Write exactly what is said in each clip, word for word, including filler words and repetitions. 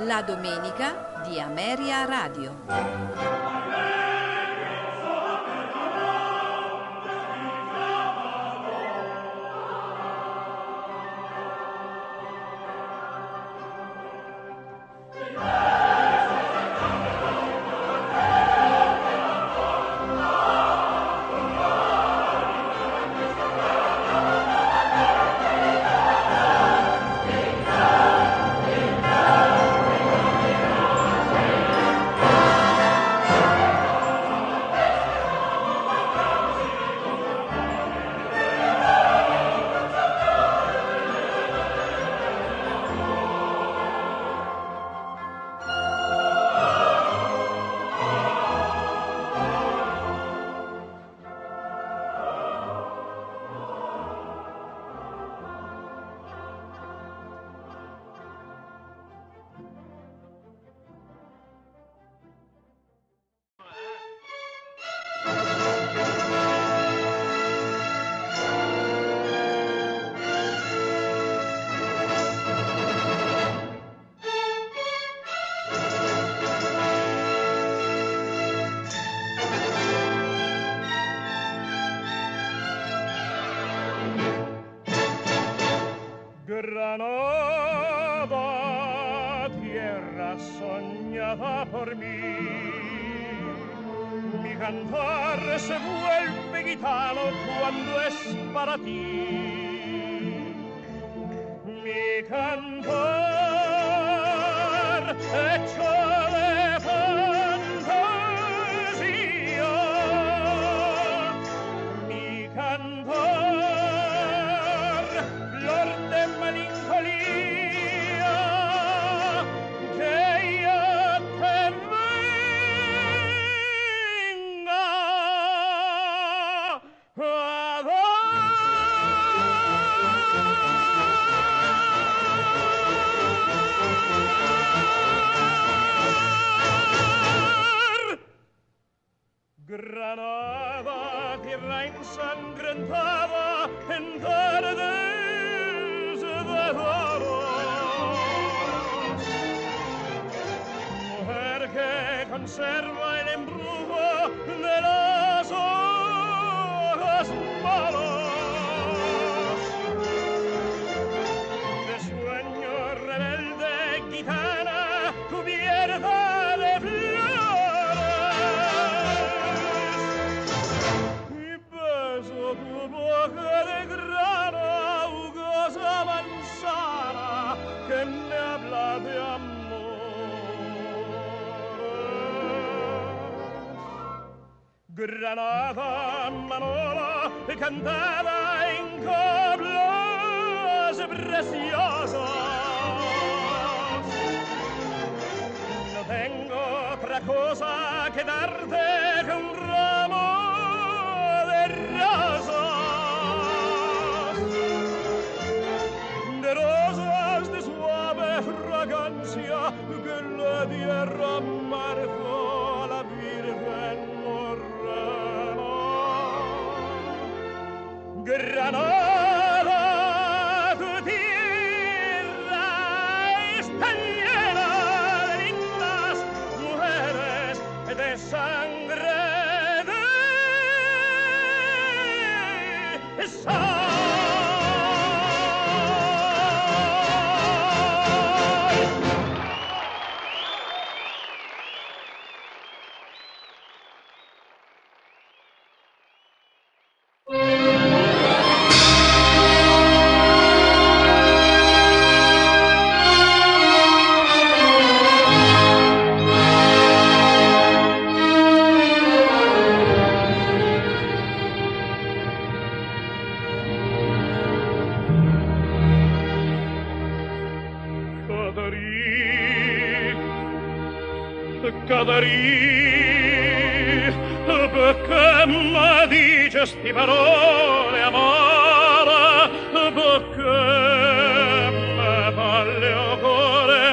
La domenica di Ameria Radio. Granada, tierra soñada por mí, mi cantar se vuelve gitano cuando es para ti. Mi cantar hecho de fantasía, mi cantar flor de melancolía, que ya te venga a dar. Granada, tierra ensangrentada en tardes de doros, mujer que conserva el embrujo de los ojos malos, de sueño rebelde gitana cubierta de flores, y beso tu boca de grana, jugosa manzana que me habla de amores. Granada, Manola, cantada en coplas preciosas, no tengo otra cosa que darte que un ramo de rosas, de rosas de suave fragancia que le diera marzo a la Virgen morena. Granada, tu tierra está llena de lindas mujeres de sangre de sal. Cadarí, perché mi dici sti parole amore, perché mi parli o cuore,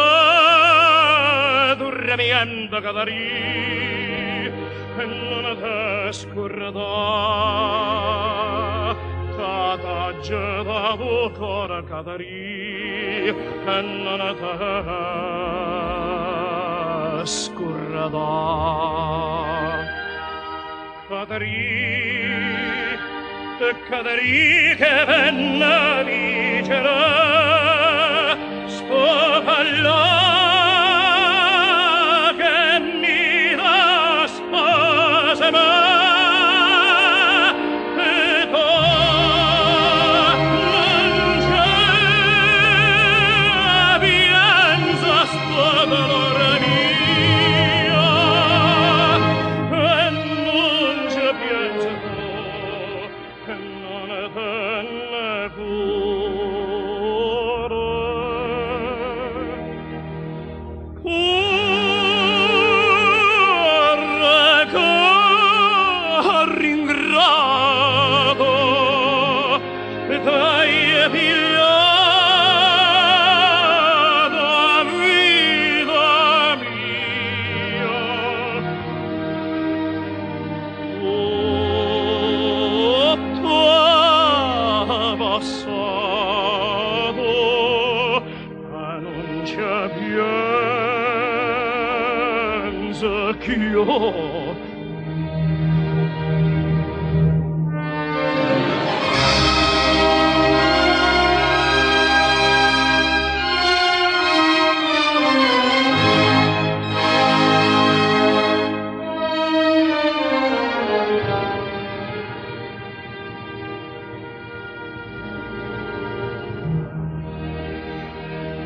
ma dormiendo Cadarí, e non te scordare, t'aggiata bravo cora cadari e non te scurrada cadari e cadari che venne vicera spopalla che mi da spasema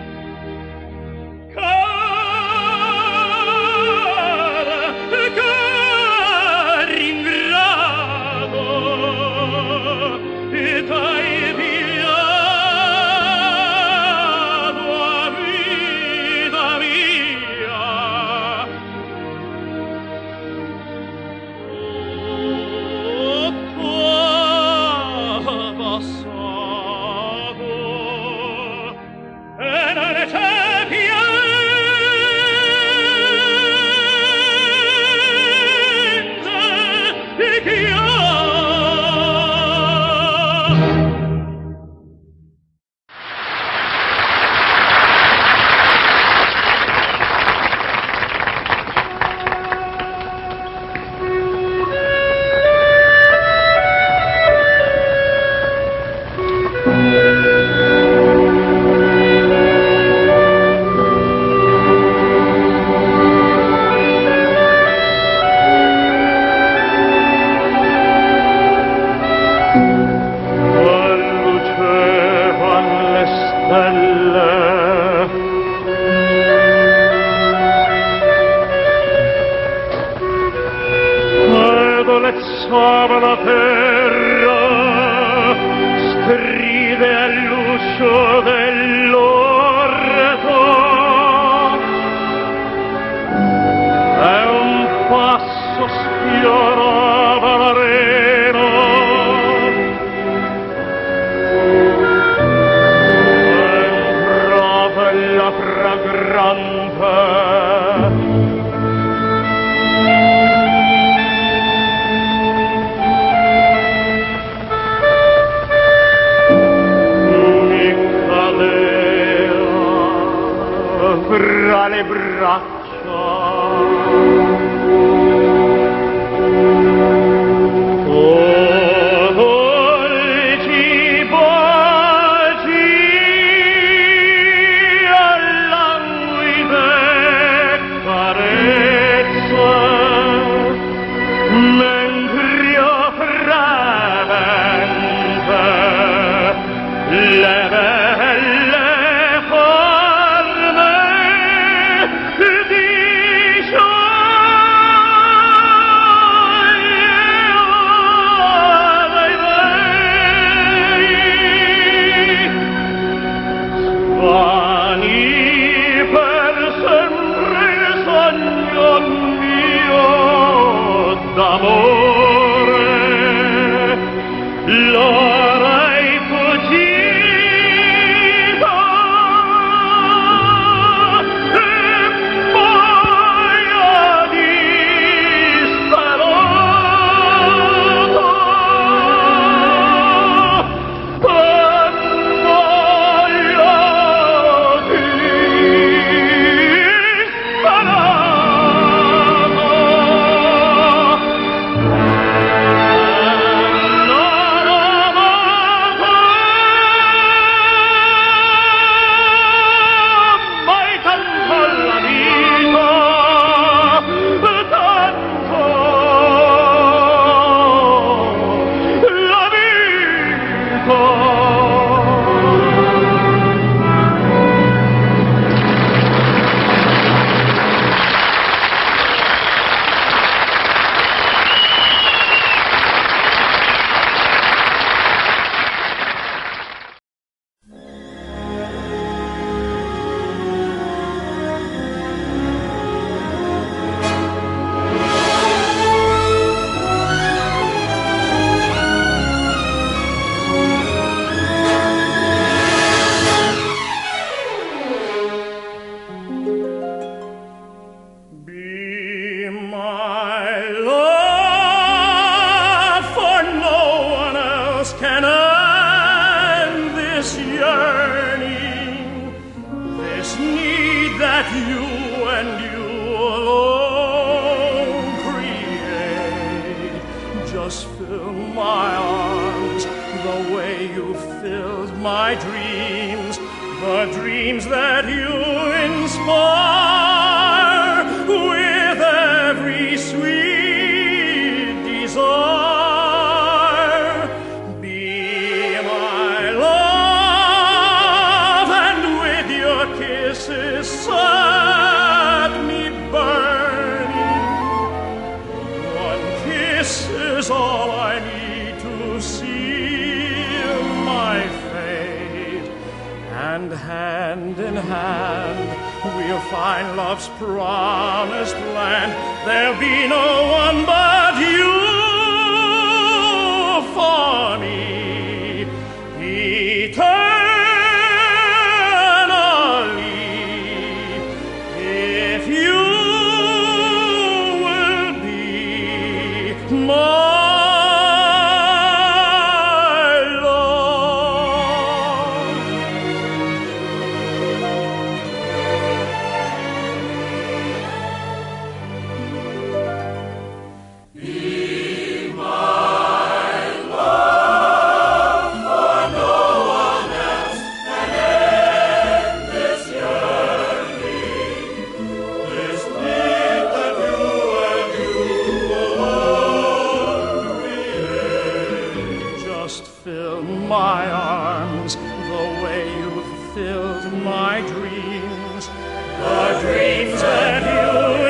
Cara, cara can end this yearning, this need that you and you alone create. Just fill my arms the way you filled my dreams, the dreams that you inspire with every sweet desire. Be my love, and with your kisses set me burning. One kiss is all I need to seal my fate, and hand in hand we'll find love's promised land. There'll be no one but you for me eternally, if you will be my my arms the way you've filled my dreams, the dreams that you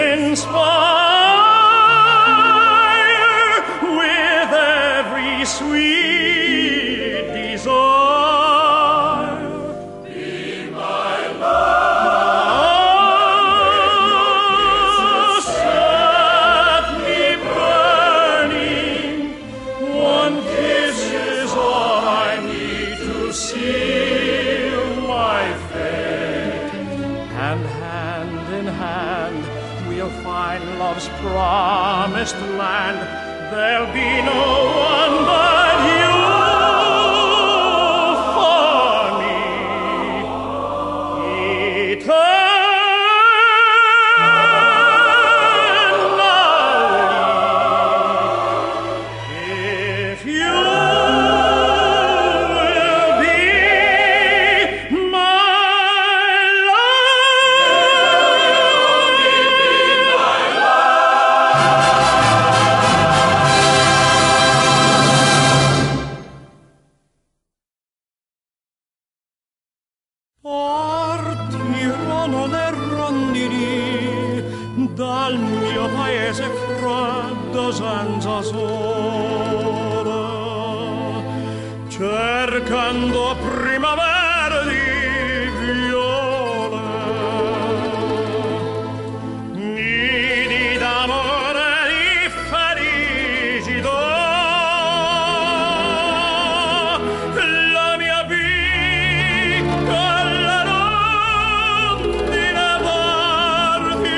inspire with every sweet desire. Be my love, set me burning. One kiss is all I need to seal my fate, and hand in hand we'll find love's promised land. There'll be no one but you for me eternally, if you dal mio paese freddo senza sole, cercando primavera di viole, nidi d'amore di felicità. La mia piccola rondine parti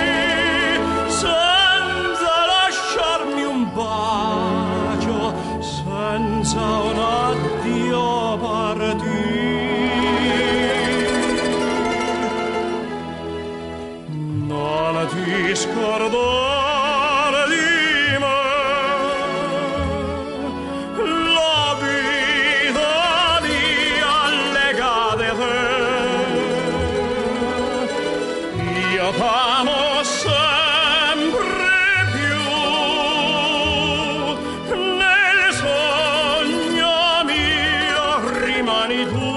senza lasciarmi un bacio, senza un addio partì. Non ti scordare di me, la vita mia legata a te. Io t'amo sempre più, nel sogno mio rimani tu.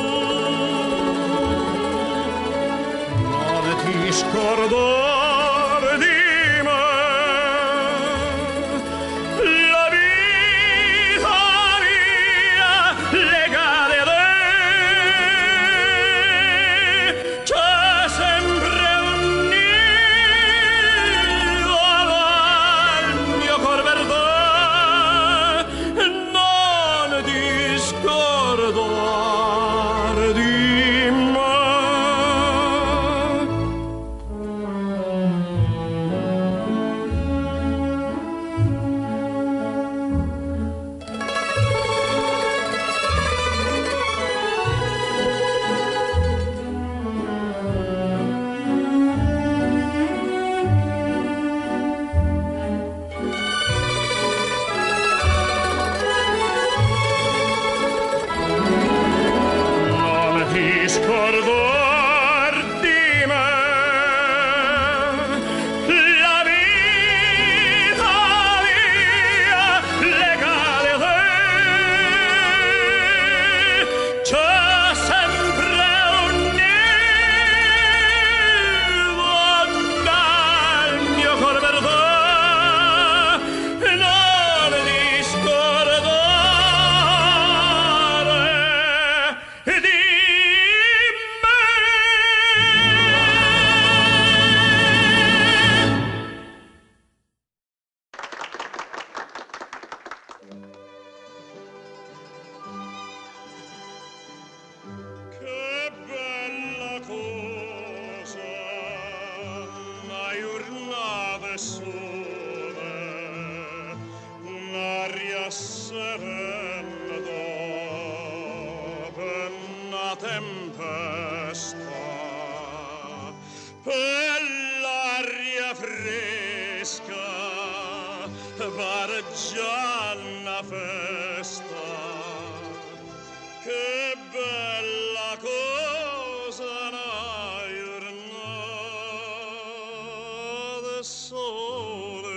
Non ti scordare di me, dopo una tempesta, per l'aria fresca pare già una festa. Che bella cosa una giornata sole.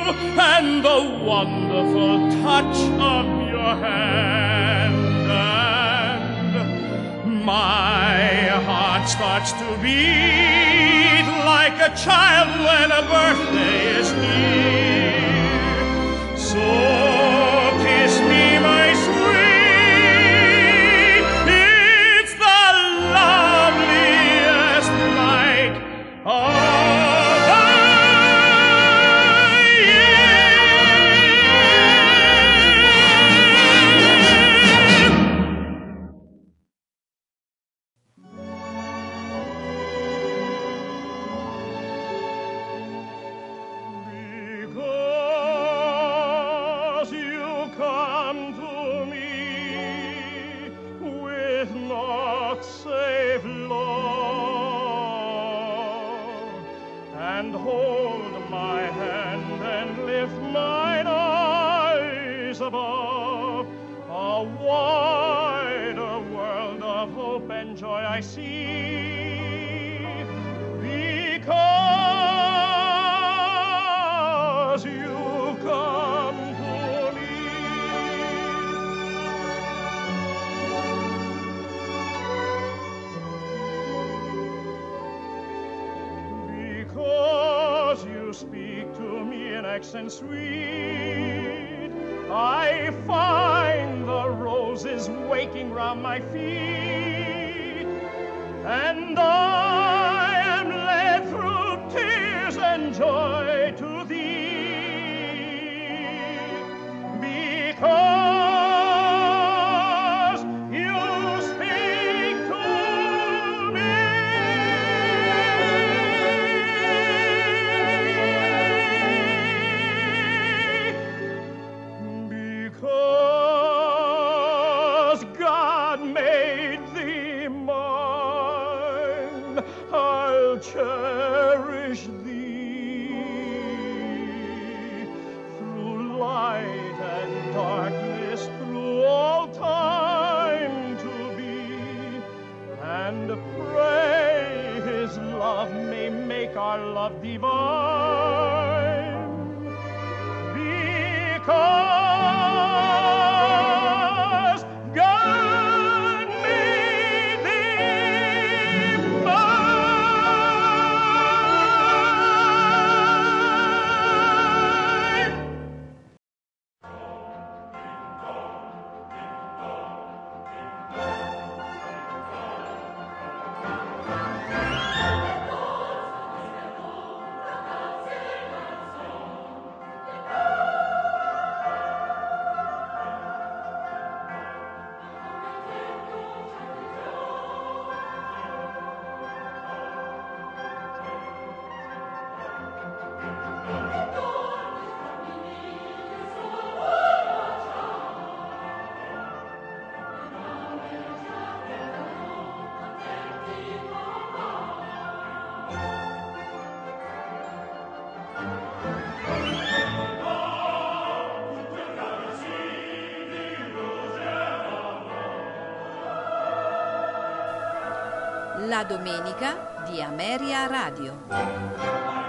and the wonderful touch of your hand, and my heart starts to beat like a child when a birthday is near. So kiss me, my sweet, it's the loveliest night of and hold my hand and lift mine eyes above. A wider world of hope and joy I see, because you come to me. Because you speak to me in accents sweet, I find the roses waking round my feet, and I am led through tears and joy to thee, because you speak to me. Because God made thee mine, I'll cherish thee through light and darkness, through all time to be, and pray his love may make our love divine. Because God made thee mine. La domenica di Ameria Radio.